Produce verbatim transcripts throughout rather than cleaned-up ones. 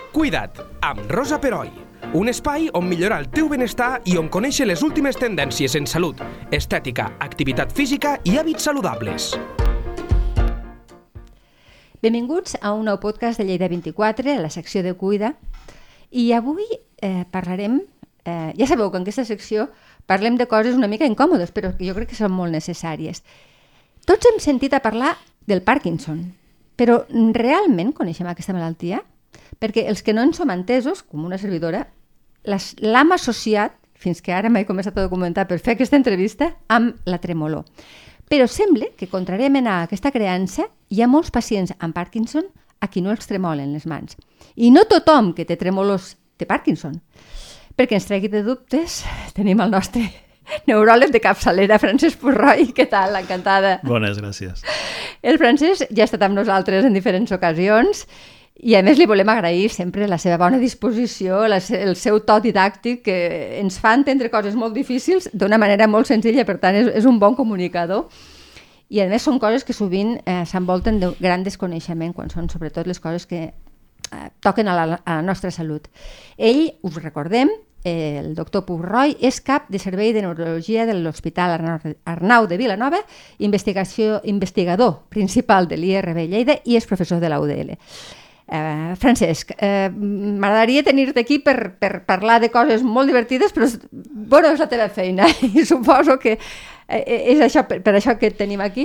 Cuida't, amb Rosa Peroi. Un espai on millorar el teu benestar i on conèixer les últimes tendències en salut, estètica, activitat física i hàbits saludables. Benvinguts a un nou podcast de Lleida vint-i-quatre, a la secció de Cuida. I avui eh, parlarem, eh, ja sabeu que en aquesta secció parlem de coses una mica incòmodes, però jo crec que són molt necessàries. Tots hem sentit a parlar del Parkinson, però realment coneixem aquesta malaltia? Perquè els que no en som entesos, com una servidora, l'hem associat, fins que ara m'he començat a documentar per fer aquesta entrevista, amb la tremolor. Però sembla que, contràriament a aquesta creença, hi ha molts pacients amb Parkinson a qui no els tremolen les mans. I no tothom que té tremolors té Parkinson. Perquè ens tregui de dubtes, tenim el nostre neuròleg de capçalera, Francesc Purroi. Què tal? Encantada. Bones, gràcies. El Francesc ja ha estat amb nosaltres en diferents ocasions i a més li volem agrair sempre la seva bona disposició, la, el seu to didàctic, que ens fa entendre coses molt difícils d'una manera molt senzilla, per tant és, és un bon comunicador. I a més són coses que sovint eh, s'envolten de gran desconeixement, quan són sobretot les coses que eh, toquen a la, a la nostra salut. Ell, us recordem, eh, el doctor Purroi, és cap de servei de neurologia de l'Hospital Arnau de Vilanova, investigació, investigador principal de l'I R B Lleida i és professor de la U D L. Uh, Francesc, uh, m'agradaria tenir-te aquí per, per parlar de coses molt divertides, però bueno, és la teva feina i suposo que és això, per, per això que et tenim aquí.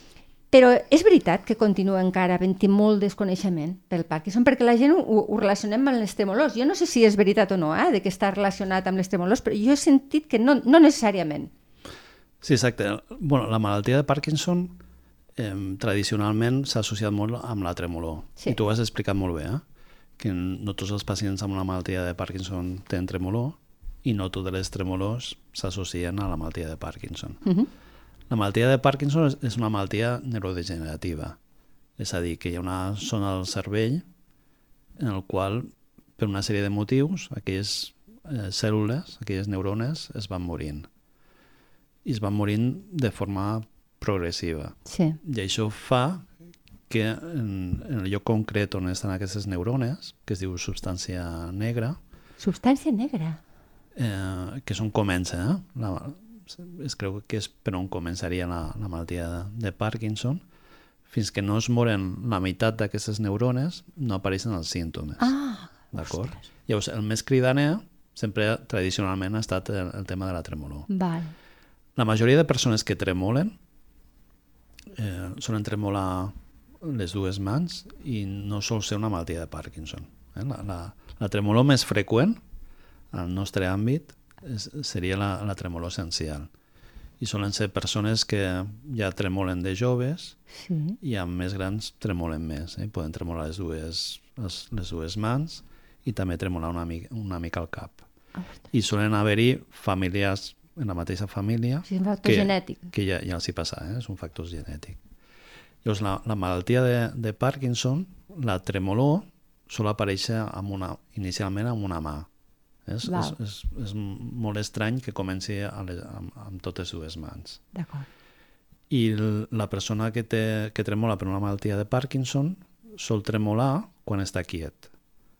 Però és veritat que continua encara havent-hi molt desconeixement pel Parkinson, perquè la gent ho, ho relacionem amb les tremolors. Jo no sé si és veritat o no, eh, de que està relacionat amb les tremolors, però jo he sentit que no, no necessàriament. Sí, exacte. Bueno, la malaltia de Parkinson Eh, tradicionalment s'ha associat molt amb la tremolor. Sí. I tu ho has explicat molt bé, eh? Que no tots els pacients amb una malaltia de Parkinson tenen tremolor i no totes les tremolors s'associen a la malaltia de Parkinson. Uh-huh. La malaltia de Parkinson és, és una malaltia neurodegenerativa. És a dir, que hi ha una zona del cervell en el qual, per una sèrie de motius, aquelles eh, cèl·lules, aquelles neurones es van morint. I es van morint de forma progressiva. Sí. I això fa que en, en el lloc concret on estan aquestes neurones, que es diu substància negra... Substància negra? Eh, que és on comença, eh? La, es creu que és per on començaria la, la malaltia de, de Parkinson. Fins que no es moren la meitat d'aquestes neurones, no apareixen els símptomes. Ah, d'acord? Ostres. Llavors, el més cridaner sempre tradicionalment ha estat el, el tema de la tremolor. Val. La majoria de persones que tremolen Eh, solen tremolar les dues mans i no sol ser una malaltia de Parkinson. Eh? La, la, la tremolor més freqüent al nostre àmbit és, seria la, la tremolor essencial. I solen ser persones que ja tremolen de joves, sí. I amb més grans tremolen més. Eh? Poden tremolar les dues, les, les dues mans i també tremolar una mica, una mica el cap. Ostres. I solen haver-hi familiars en la mateixa família, sí, un factor que, genètic. que ja, ja els hi passa, eh? És un factor genètic. Llavors, la, la malaltia de, de Parkinson, la tremolor, sol aparèixer amb una, inicialment amb una mà. És, és, és, és molt estrany que comenci a les, amb, amb totes dues mans. D'acord. I la persona que, té, que tremola per una malaltia de Parkinson sol tremolar quan està quiet,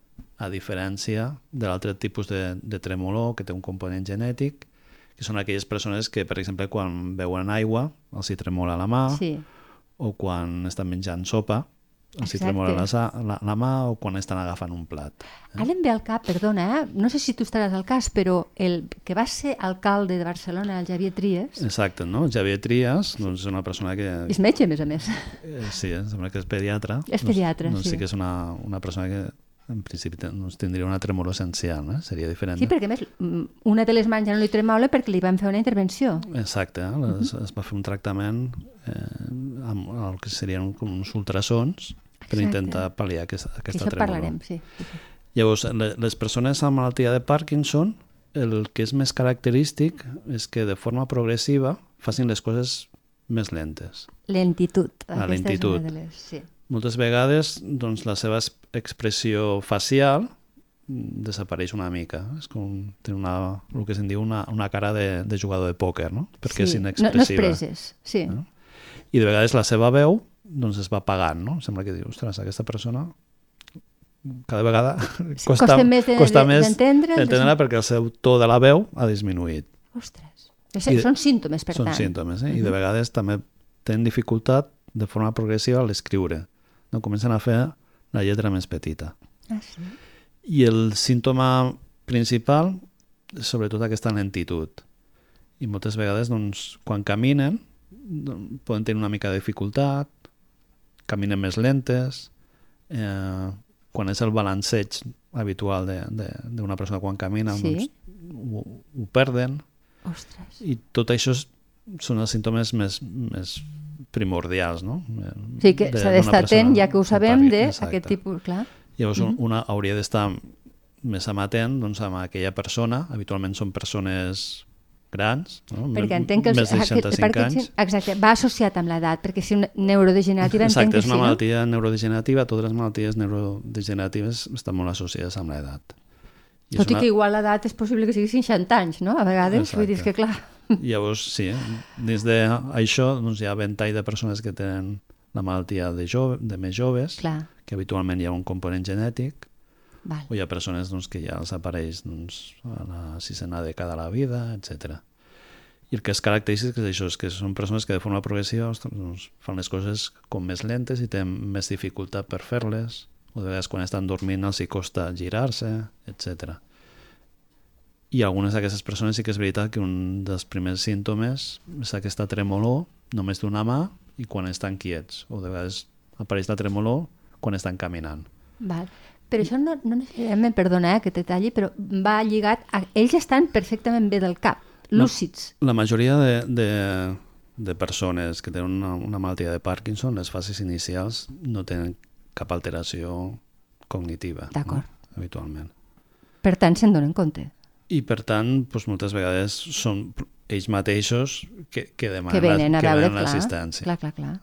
a diferència de l'altre tipus de, de tremolor que té un component genètic, que són aquelles persones que, per exemple, quan beuen aigua els hi tremola la mà, sí. O quan estan menjant sopa els hi tremola la, la, la mà, o quan estan agafant un plat. Eh? Ara em ve al cap, perdona, eh? No sé si tu estaràs al cas, però el que va ser alcalde de Barcelona, el Xavier Trias... Exacte, no? El Xavier Trias doncs, és una persona que... És metge, a més a més. Eh, sí, em sembla que és pediatre. És pediatre, doncs, sí. Doncs sí que és una, una persona que... en principi doncs, tindria una tremolor essencial, eh? Seria diferent. Sí, perquè a més una de les mans ja no li tremola perquè li van fer una intervenció. Exacte, eh? uh-huh. es, es va fer un tractament eh, amb el que serien com uns ultrasons per Exacte. Intentar pal·liar aquesta, aquesta tremolor. Això parlarem, sí. Llavors, les persones amb malaltia de Parkinson, el que és més característic és que de forma progressiva facin les coses més lentes. Lentitud. La lentitud. De les... sí. Moltes vegades doncs, la seva expressió facial desapareix una mica. És com tenir una, el que se'n diu una, una cara de, de jugador de pòquer, no? Perquè sí. és inexpressiva. No, no expresses, sí. No? I de vegades la seva veu doncs, es va apagant, no? Sembla que diu, ostres, aquesta persona cada vegada Sí, costa, costa més de- costa de- més d'entendre, entendre perquè el seu to de la veu ha disminuït. Ostres. I són símptomes, per Són tant. símptomes, eh? I de vegades també tenen dificultat de forma progressiva a l'escriure. No? Comencen a fer la lletra més petita. Ah, sí? I el símptoma principal és sobretot aquesta lentitud. I moltes vegades, doncs, quan caminen, doncs, poden tenir una mica de dificultat, caminen més lentes, eh, quan és el balanceig habitual d'una persona quan camina, Sí. doncs, ho, ho perden. Ostres. I tot això és, són els símptomes més, més primordials, no? O sigui que De- s'ha d'una d'estar persona atent, ja que ho amb sabem, Parkinson. d'aquest Exacte. tipus, clar. Llavors una hauria d'estar més amatent, doncs, amb aquella persona. Habitualment són persones grans, no? Perquè entenc que els, més de aquest seixanta-cinc Parkinson, anys. exacte, va associat amb l'edat, perquè si una neurodegenerativa entenc Exacte, que és sí, una no? malaltia neurodegenerativa. Totes les malalties neurodegeneratives estan molt associades amb l'edat. I és Tot i una- que igual l'edat és possible que sigui seixanta anys, no? A vegades, Exacte. vull dir que clar... Llavors, sí, eh? Dins d'això doncs, hi ha ventall de persones que tenen la malaltia de, jove, de més joves, Clar, que habitualment hi ha un component genètic, val. o hi ha persones doncs, que ja els apareix doncs, a la sisena dècada de la vida, etcètera. I el que és característic és això, és que són persones que de forma progressiva doncs, fan les coses com més lentes i tenen més dificultat per fer-les, o de vegades quan estan dormint els hi costa girar-se, etcètera. I algunes d'aquestes persones sí que és veritat que un dels primers símptomes és aquesta tremolor només d'una mà i quan estan quiets, o de vegades apareix la tremolor quan estan caminant. Val. Però això no, no necessàriament, perdona eh, que te talli, però va lligat a... Ells estan perfectament bé del cap, lúcids. La majoria de, de, de persones que tenen una, una malaltia de Parkinson, les fases inicials no tenen cap alteració cognitiva, D'acord. no? Habitualment. Per tant, se'n donen compte. I per tant, doncs, moltes vegades són ells mateixos que, que demanen, Que venen a que veure, demanen clar. l'assistència. Clar, clar, clar.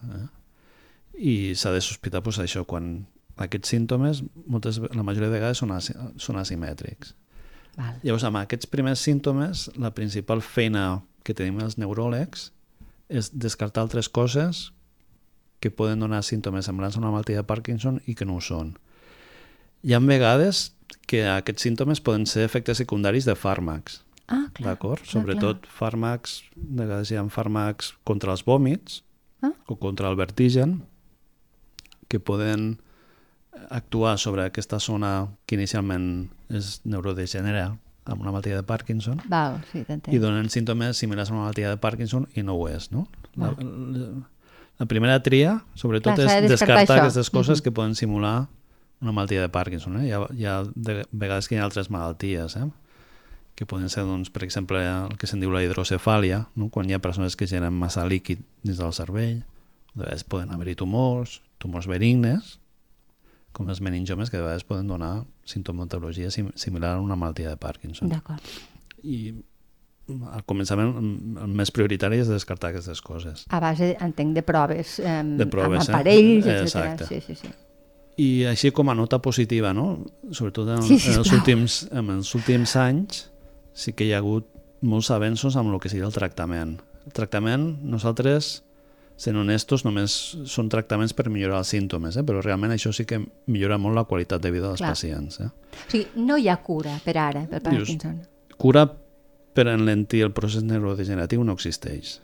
I s'ha de sospitar doncs, això, quan aquests símptomes, moltes, la majoria de vegades són, asi, són asimètrics. Val. Llavors, amb aquests primers símptomes, la principal feina que tenim els neuròlegs és descartar altres coses que poden donar símptomes semblants a una malaltia de Parkinson i que no ho són. Hi ha vegades que aquests símptomes poden ser efectes secundaris de fàrmacs, Ah, clar. d'acord? clar, Sobretot clar. fàrmacs, de vegades hi ha fàrmacs contra els vòmits Ah. o contra el vertigen que poden actuar sobre aquesta zona que inicialment és neurodegenera amb una malaltia de Parkinson Val, sí, t'entenc. i donen símptomes similars a una malaltia de Parkinson i no ho és, no? La, la, la primera tria, sobretot, Clar, s'ha de és descartar descartar això. aquestes coses Mhm. que poden simular una malaltia de Parkinson. Eh? Hi ha, hi ha de vegades que hi ha altres malalties, eh? que poden ser, doncs, per exemple, el que se'n diu la hidrocefàlia, no? Quan hi ha persones que generen massa líquid dins del cervell. De vegades poden haver-hi tumors, tumors benignes, com els meningiomes, que de vegades poden donar sintomatologia sim similar a una malaltia de Parkinson. D'acord. I al començament el més prioritari és descartar aquestes coses. A base, entenc, de proves, eh, De proves, amb eh? aparells, etcètera. Exacte. Sí, sí, sí. I així com a nota positiva, no? Sobretot en, Sí, en, els sisplau. últims, en els últims anys sí que hi ha hagut molts avenços amb el que seria el tractament. El tractament, nosaltres, sent honestos, només són tractaments per millorar els símptomes, eh? Però realment això sí que millora molt la qualitat de vida dels Clar. pacients. Eh? O sigui, no hi ha cura per ara, per Parkinson. Cura per enlentir el procés neurodegeneratiu no existeix.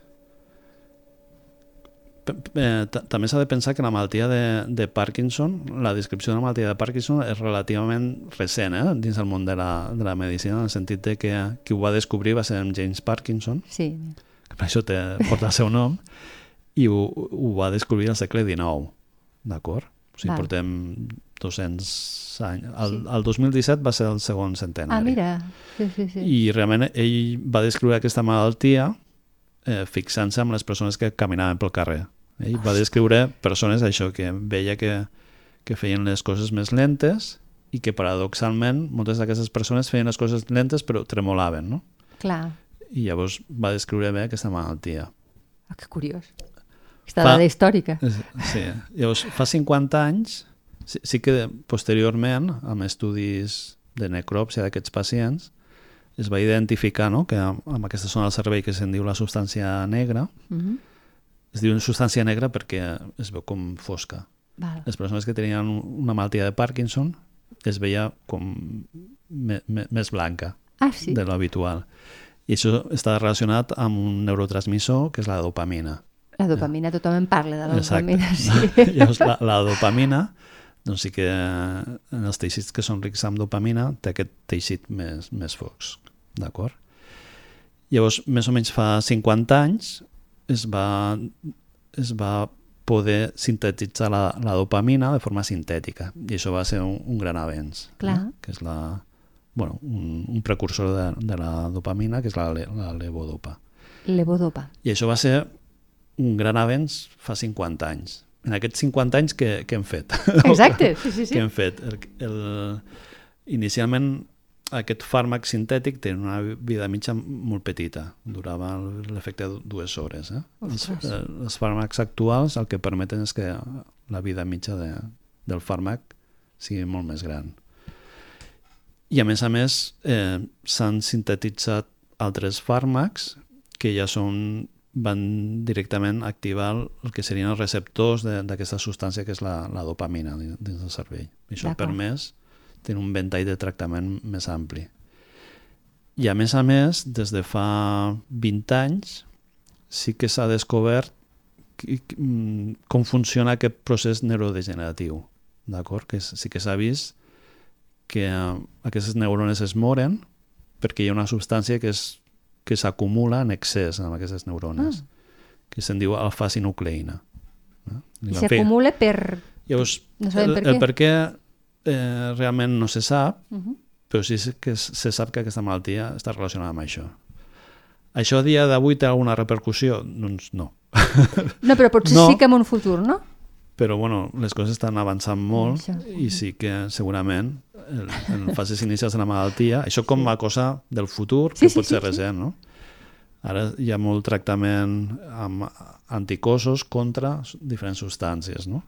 P- eh, ta- També s'ha de pensar que la malaltia de, de Parkinson, la descripció de la malaltia de Parkinson és relativament recent eh? dins el món de la, de la medicina, en el sentit de que qui ho va descobrir va ser en James Parkinson, Sí. que per això té, porta el seu nom, i ho, ho va descobrir al segle dinou, d'acord? O sigui, Val. portem dos-cents anys. El, Sí. el dos mil disset va ser el segon centenari. Ah, mira. Sí, sí, sí. I realment ell va descriure aquesta malaltia eh, fixant-se en les persones que caminaven pel carrer. Ell va descriure persones això que veia que, que feien les coses més lentes i que paradoxalment moltes d'aquestes persones feien les coses lentes però tremolaven, no? Clar. I llavors va descriure bé aquesta malaltia. Ah, que curiós. Aquesta Fa- dada històrica. Sí, llavors fa cinquanta anys sí, sí que posteriorment amb estudis de necròpsia d'aquests pacients es va identificar no, que amb, amb aquesta zona del cervell que se'n diu la substància negra, Mhm. es diu substància negra perquè es veu com fosca. Val. Les persones que tenien una malaltia de Parkinson es veia com me, me, més blanca ah, sí? de l'habitual. I això està relacionat amb un neurotransmissor que és la dopamina. La dopamina, tothom en parla de la Exacte. dopamina, sí. Llavors, la, la dopamina, doncs sí que en els teixits que són rics amb dopamina té aquest teixit més, més fosc, d'acord? Llavors, més o menys fa cinquanta anys es va, es va poder sintetitzar la, la dopamina de forma sintètica, i això va ser un, un gran avenç. Clar. Eh? Que és la, bueno, un, un precursor de, de la dopamina, que és la, la levodopa. Levodopa. I això va ser un gran avenç fa cinquanta anys. En aquests cinquanta anys, què, què hem fet? Exacte, sí, sí, sí. Què hem fet? El, el, inicialment, aquest fàrmac sintètic té una vida mitja molt petita. Durava l'efecte de dues hores. Eh? Els, eh, els fàrmacs actuals el que permeten és que la vida mitja de, del fàrmac sigui molt més gran. I a més a més, eh, s'han sintetitzat altres fàrmacs que ja són van directament activar el que serien els receptors d'aquesta substància que és la, la dopamina dins del cervell. I això ha permès tenir un ventall de tractament més ampli. I a més a més, des de fa vint anys sí que s'ha descobert com funciona aquest procés neurodegeneratiu. D'acord? Que sí que s'ha vist que aquestes neurones es moren perquè hi ha una substància que és que s'acumula en excés en aquestes neurones, ah. que se'n diu alfa-sinucleïna. I s'acumula per... Llavors, no sabem per el, què. El per què eh, realment no se sap, uh -huh. però sí que se sap que aquesta malaltia està relacionada amb això. Això a dia d'avui té alguna repercussió? Doncs no. No, però potser no, sí que en un futur, no? Però bueno, les coses estan avançant molt això. I sí que segurament en fases inicials de la malaltia, això com a cosa del futur, sí, que sí, pot sí, ser sí, recent, no? Ara hi ha molt tractament amb anticossos contra diferents substàncies, no?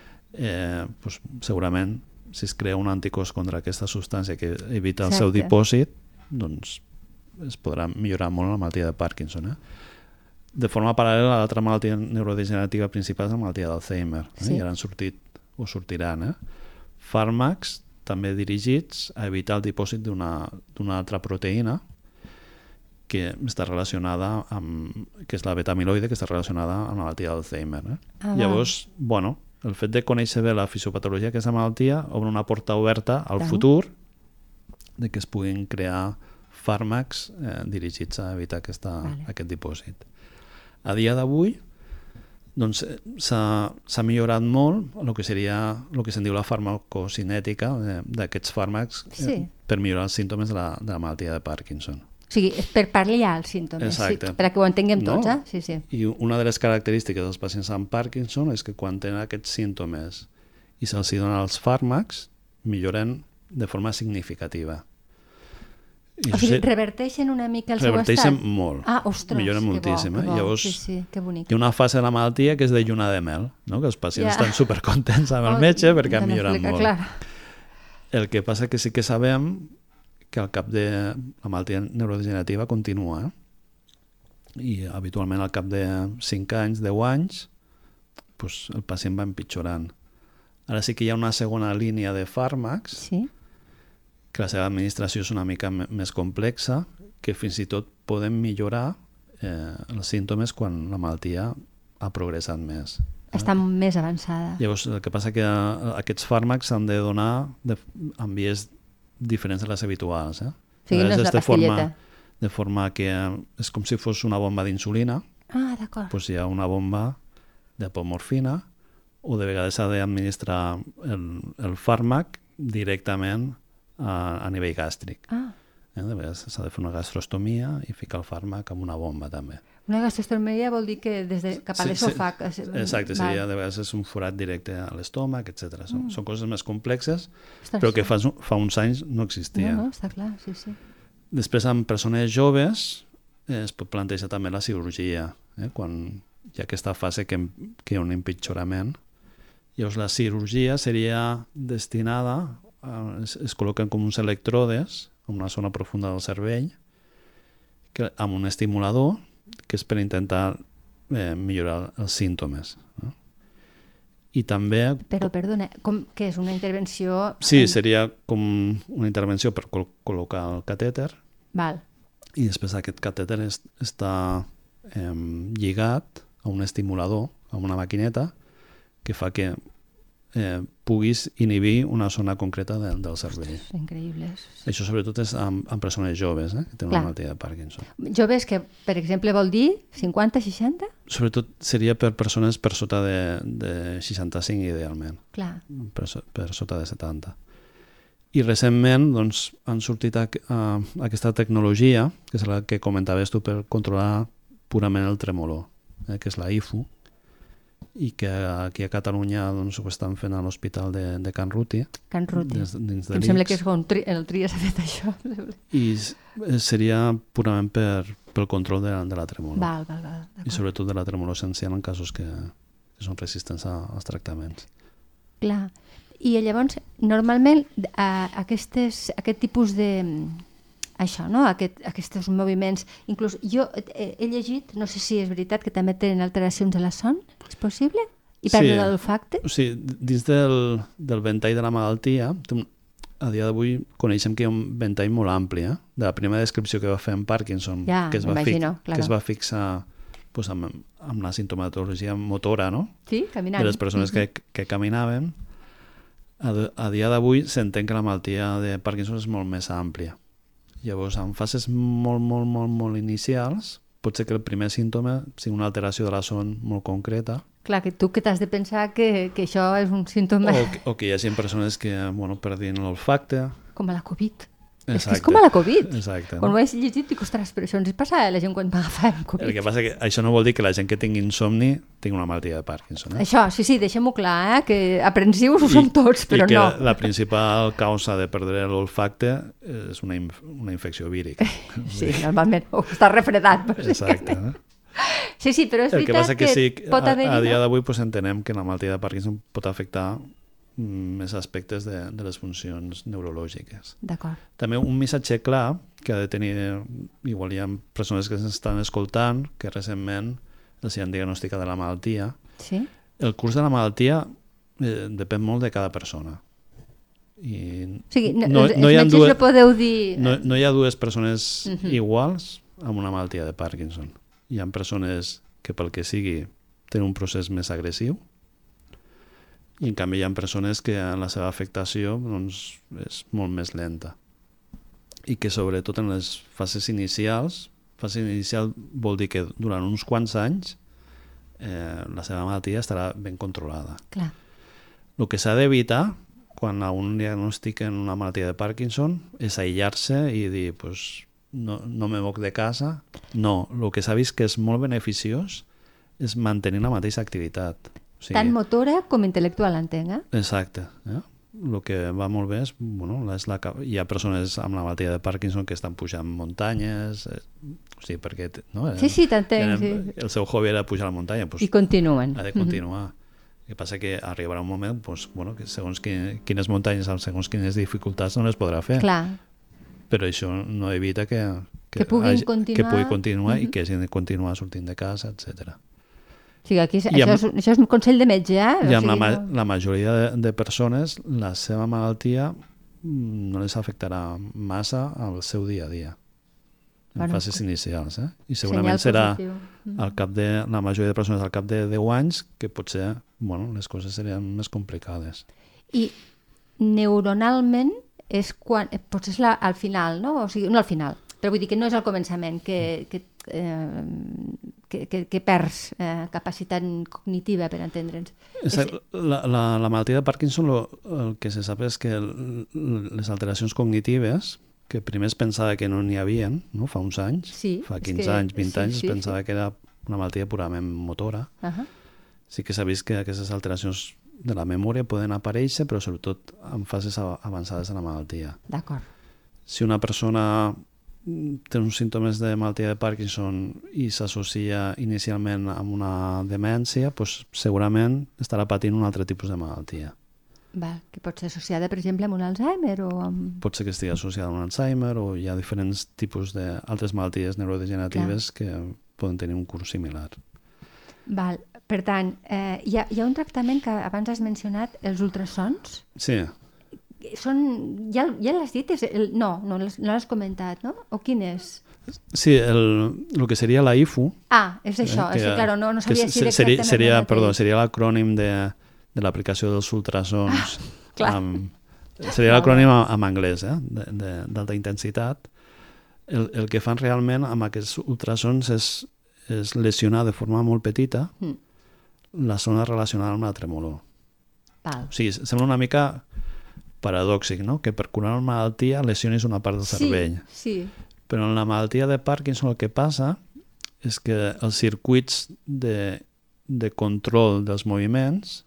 Eh, doncs, segurament, si es crea un anticòs contra aquesta substància que evita el Exacte. seu dipòsit, doncs es podrà millorar molt la malaltia de Parkinson, eh? De forma paral·lela, l'altra malaltia neurodegenerativa principal és la malaltia d'Alzheimer. Eh? Sí. I ara han sortit, o sortiran, eh? fàrmacs també dirigits a evitar el dipòsit d'una d'una altra proteïna que està relacionada amb, que és la beta-amiloide, que està relacionada amb la malaltia d'Alzheimer. Eh? Ah, Llavors, va. bueno, el fet de conèixer bé la fisiopatologia d'aquesta malaltia obre una porta oberta al Clar. futur de que es puguin crear fàrmacs eh, dirigits a evitar aquesta, vale. aquest dipòsit. A dia d'avui doncs, s'ha millorat molt el que seria el que se'n diu la farmacocinètica d'aquests fàrmacs sí. eh, per millorar els símptomes de la, de la malaltia de Parkinson. O sigui, és per pal·liar els símptomes, sí, per que ho entenguem tots. No? Eh? Sí, sí. I una de les característiques dels pacients amb Parkinson és que quan tenen aquests símptomes i se'ls donen els fàrmacs, milloren de forma significativa. I o sigui, sí, reverteixen una mica el seu estat? Reverteixen molt. Ah, ostres, milloren que moltíssim. bo, que bo. Eh? Llavors, sí, sí, que bonic. Hi ha una fase de la malaltia que és de lluna de mel, no? Que els pacients ja. estan supercontents amb el metge perquè han millorat molt. Clar. El que passa que sí que sabem que al cap de la malaltia neurodegenerativa continua. Eh? I habitualment al cap de cinc anys, deu anys, pues, el pacient va empitjorant. Ara sí que hi ha una segona línia de fàrmacs sí. que la seva administració és una mica més complexa, que fins i tot poden millorar eh, els símptomes quan la malaltia ha progressat més. Està eh? més avançada. Llavors, el que passa que aquests fàrmacs s'han de donar de, en vies diferents de les habituals. Eh? O sigui, no és la de pastilleta. Forma, de forma que és com si fos una bomba d'insulina. Ah, d'acord. Doncs hi ha una bomba d'apomorfina o de vegades s'ha d'administrar el, el fàrmac directament a, a nivell gàstric. Ah. Eh? De vegades s'ha de fer una gastrostomia i ficar el fàrmac amb una bomba també. Una gastrostomia vol dir que des de cap a sí, l'esòfag... Sí, exacte, seria, de vegades és un forat directe a l'estómac, etcètera. Són, mm. són coses més complexes, Ostres, però que fa, fa uns anys no existia. No, no, està clar, sí, sí. Després, amb persones joves, eh, es pot plantejar també la cirurgia, eh? Quan hi ha aquesta fase que, que hi ha un empitjorament. Llavors, la cirurgia seria destinada, a, es, es col·loquen com uns electrodes en una zona profunda del cervell, que, amb un estimulador, que és per intentar eh, millorar els símptomes. No? I també... Però, perdona, com, què és una intervenció... Sí, en... seria com una intervenció per col col·locar el catèter. Val. I després aquest catèter es, està eh, lligat a un estimulador, a una maquineta, que fa que eh, puguis inhibir una zona concreta de, del cervell. Ostres, increïble. Sí. Això sobretot és amb, amb persones joves, eh, que tenen Clar. una malaltia de Parkinson. Joves que, per exemple, vol dir cinquanta, seixanta? Sobretot seria per persones per sota de, de seixanta-cinc idealment, Clar. per, so, per sota de setanta. I recentment doncs, han sortit a, a, aquesta tecnologia, que és la que comentaves tu, per controlar purament el tremolor, eh, que és la I F U, i que aquí a Catalunya doncs, ho estan fent a l'Hospital de, de Can Ruti. Can Ruti. Dins, dins de em sembla que és on tri, el Tria s'ha fet això. I seria purament per, pel control de, de la tremolor. Val, val, val. I sobretot de la tremolor essencial en casos que, que són resistents a, als tractaments. Clar. I llavors, normalment, a, aquestes, aquest tipus de... Això, no? Aquest, aquests moviments... Inclús jo he, he llegit, no sé si és veritat, que també tenen alteracions de la son. És possible? I pèrdua sí. de l'olfacte? O sigui, dins del, del ventall de la malaltia, a dia d'avui coneixem que hi ha un ventall molt ampli, eh? De la primera descripció que va fer en Parkinson, ja, que, es va claro. que es va fixar pues, amb, amb la sintomatologia motora, no? Sí, caminant. De les persones que, que caminaven. A, a dia d'avui s'entén que la malaltia de Parkinson és molt més àmplia. Llavors, en fases molt, molt, molt, molt inicials, pot ser que el primer símptoma sigui una alteració de la son molt concreta. Clar, que tu que t'has de pensar que, que això és un símptoma... O, o que hi hagi persones que, bueno, perdin l'olfacte. Com a la Covid. Exacte. És que és com a la Covid. Exacte. Quan ho he llegit, dic, ostres, però això ens passa a la gent quan va agafar el Covid. El que passa que això no vol dir que la gent que tingui insomni tingui una malaltia de Parkinson. Eh? Això, sí, sí, deixem-ho clar, eh? Que aprensius ho són tots, però i que no. La, la principal causa de perdre l'olfacte és una, inf una infecció vírica. Sí, normalment, o està refredat. Exacte. Eh? Sí, sí, però és el que veritat passa que, que, sí, pot haver-hi... A, a dia d'avui pues, entenem que la malaltia de Parkinson pot afectar més aspectes de, de les funcions neurològiques. D'acord. També un missatge clar que ha de tenir, igual hi ha persones que s'estan escoltant, que recentment els han diagnosticat de la malaltia. Sí? El curs de la malaltia eh, depèn molt de cada persona. I o sigui, no, no, els, no, els hi ha metges dues, no podeu dir... no, no hi ha dues persones uh -huh. iguals amb una malaltia de Parkinson. Hi ha persones que pel que sigui tenen un procés més agressiu, i en canvi hi ha persones que la seva afectació doncs, és molt més lenta i que sobretot en les fases inicials, fase inicial vol dir que durant uns quants anys eh, la seva malaltia estarà ben controlada. Clar. El que s'ha d'evitar quan a un diagnostiquen una malaltia de Parkinson és aïllar-se i dir pues, no, no me moc de casa. No, el que s'ha vist que és molt beneficiós és mantenir la mateixa activitat. O sigui, tant motora com intel·lectual, entenc, eh? Exacte. Eh? El que va molt bé és, bueno, és la, hi ha persones amb la malaltia de Parkinson que estan pujant muntanyes, eh, o sigui, perquè... No, sí, sí, t'entenc. Sí. El seu hobby era pujar a la muntanya. Pues, I continuen. Ha de continuar. Mm-hmm. El que passa que arribarà un moment pues, bueno, que segons quin, quines muntanyes, segons quines dificultats no les podrà fer. Clar. Però això no evita que, que, que puguin hagi, continuar, que pugui continuar mm-hmm. i que hagin de continuar sortint de casa, etcètera. O sigui, aquí, amb, això, és, això és un consell de metge, eh? I o amb sigui, la, ma no... la majoria de, de persones, la seva malaltia no les afectarà massa al seu dia a dia, en bueno, fases inicials. Eh? I segurament serà al cap de, la majoria de persones al cap de deu anys que potser bueno, les coses serien més complicades. I neuronalment és quan, potser és la, al final, no? O sigui, no al final, però vull dir que no és al començament, que... que eh, que, que, que perds eh, capacitat cognitiva, per entendre'ns. La, la, la malaltia de Parkinson, lo, el que se sap és que el, les alteracions cognitives, que primer es pensava que no n'hi havia, no? Fa uns anys, sí, fa quinze que, anys, vint sí, anys, sí, es pensava sí. que era una malaltia purament motora. Uh -huh. Sí que s'ha vist que aquestes alteracions de la memòria poden aparèixer, però sobretot en fases avançades de la malaltia. D'acord. Si una persona té uns símptomes de malaltia de Parkinson i s'associa inicialment amb una demència, doncs segurament estarà patint un altre tipus de malaltia. Val, que pot ser associada, per exemple, amb un Alzheimer o amb... Pot ser que estigui associada amb un Alzheimer o hi ha diferents tipus d'altres malalties neurodegeneratives Clar. que poden tenir un curs similar. Val. Per tant, eh, hi, ha, hi ha un tractament que abans has mencionat, els ultrasons. Sí. Són, ja, ja l'has dit? És el, no, no l'has comentat, no? O quin és? Sí, el, el que seria la I F U. Ah, és això, eh, que, és que, claro, no, no sabia si era seria, exactament seria, el perdó, seria l'acrònim de, de l'aplicació dels ultrasons. Ah, clar. Amb, seria l'acrònim en anglès, eh, d'alta intensitat. El, el que fan realment amb aquests ultrasons és, és lesionar de forma molt petita mm. la zona relacionada amb la tremolor. Val. O sigui, sembla una mica paradòxic, no? Que per curar una malaltia lesionis una part del cervell. Sí, sí. Però en la malaltia de Parkinson el que passa és que els circuits de, de control dels moviments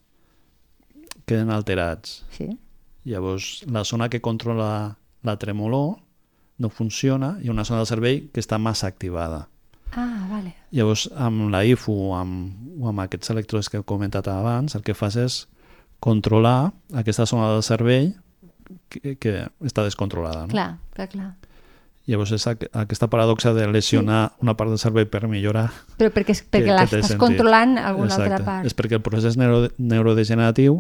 queden alterats. Sí. Llavors, la zona que controla la tremolor no funciona i una zona del cervell que està massa activada. Ah, vale. Llavors, amb la I F U o amb, o amb aquests electrodes que he comentat abans, el que fas és controlar aquesta zona del cervell que, que està descontrolada. No? Clar, clar, clar. Llavors és aquesta paradoxa de lesionar sí. una part del cervell per millorar... Però perquè, perquè l'estàs controlant alguna Exacte. altra part. És perquè el procés neuro, neurodegeneratiu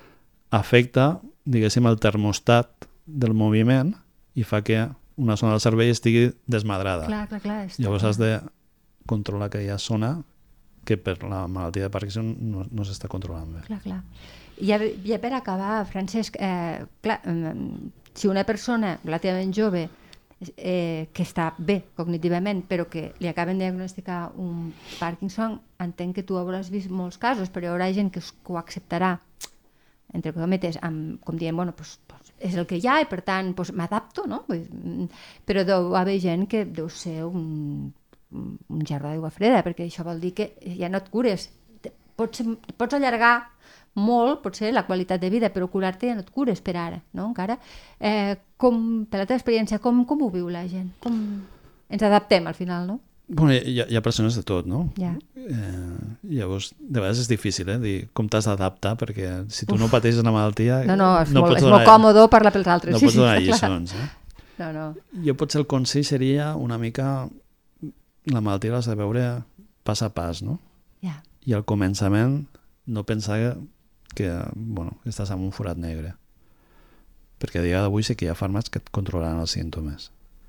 afecta, diguéssim, el termostat del moviment i fa que una zona del cervell estigui desmadrada. Clar, clar, clar. Llavors has de controlar aquella zona que per la malaltia de Parkinson no, no s'està controlant bé. Clar, clar. I ja, ja per acabar, Francesc, eh, clar, si una persona relativament jove Eh, que està bé cognitivament però que li acaben de diagnosticar un Parkinson, entenc que tu hauràs vist molts casos, però hi haurà gent que, que ho acceptarà entre cometes, amb, com dient, bueno, pues, pues, és el que hi ha i per tant pues, m'adapto, no? Però deu haver gent que deu ser un, un gerro d'aigua freda, perquè això vol dir que ja no et cures, pots, pots allargar molt, potser, la qualitat de vida, però curar-te ja no et cures per ara, no? Encara. Eh, com, per la teva experiència, com, com ho viu la gent? Com ens adaptem al final, no? Bueno, hi ha, hi ha persones de tot, no? Ja. Eh, llavors, de vegades és difícil, eh? Dir com t'has d'adaptar, perquè si tu Uf. no pateixes una malaltia... No, no, és, no molt, és donar, molt còmode parlar pels altres. No sí, pots donar sí, lliçons, eh? No, no. Jo potser el consell seria una mica... La malaltia l'has de veure pas a pas, no? Ja. I al començament no pensar que que bueno, estàs en un forat negre, perquè a dia d'avui sí que hi ha fàrmacs que et controlaran els símptomes.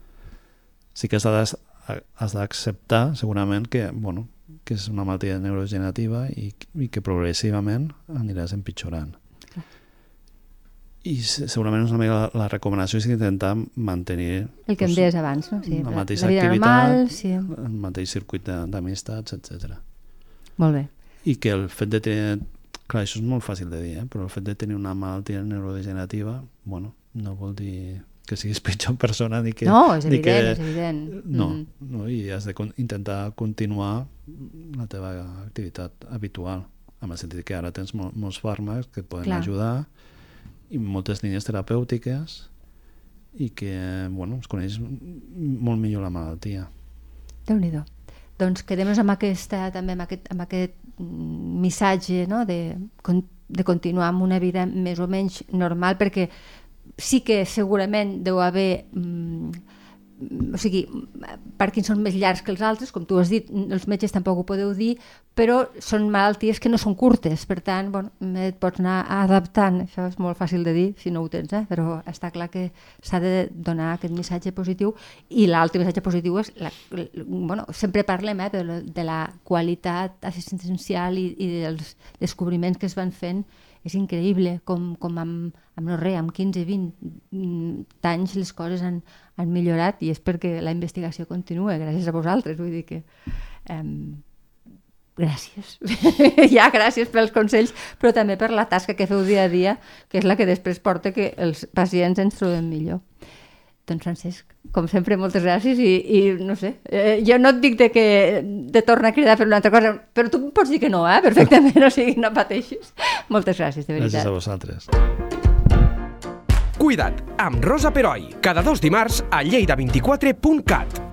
Sí que has d'acceptar segurament que, bueno, que és una malaltia neurodegenerativa i, i que progressivament aniràs empitjorant. Clar. I segurament una mica la, la recomanació és intentar mantenir el que em deies abans, no? Sí, la la, mateixa la vida activitat, normal, sí. el mateix circuit d'amistats, etcètera. Molt bé. I que el fet de tenir... Clar, això és molt fàcil de dir, eh? Però el fet de tenir una malaltia neurodegenerativa, bueno, no vol dir que siguis pitjor persona ni que... No, és evident, que, és evident. No, mm. no, i has d'intentar continuar la teva activitat habitual, en el sentit que ara tens mol, molts fàrmacs que et poden Clar. ajudar i moltes línies terapèutiques i que, bueno, es coneix molt millor la malaltia. Déu-n'hi-do. Doncs quedem-nos amb aquesta, també amb aquest, amb aquest missatge, no? de, de continuar amb una vida més o menys normal, perquè sí que segurament deu haver mm, o sigui, Parkinson més llargs que els altres, com tu has dit, els metges tampoc ho podeu dir, però són malalties que no són curtes, per tant, bueno, et pots anar adaptant, això és molt fàcil de dir si no ho tens, eh? Però està clar que s'ha de donar aquest missatge positiu, i l'altre missatge positiu és, la, bueno, sempre parlem eh, de, la, de la qualitat assistencial i, i dels descobriments que es van fent. És increïble com, com amb, amb no res, amb quinze vint anys les coses han, han millorat, i és perquè la investigació continua, gràcies a vosaltres, vull dir que um, gràcies ja, gràcies pels consells, però també per la tasca que feu dia a dia, que és la que després porta que els pacients ens trobem millor. Doncs Francesc, com sempre, moltes gràcies i, i no sé, eh, jo no et dic de que de tornar a cridar a fer una altra cosa, però tu pots dir que no, eh? Perfectament, o sigui, no pateixis. Moltes gràcies, de veritat. Gràcies a vosaltres. Cuida't, amb Rosa Peroi, cada dos dimarts a lleida vint quatre punt cat.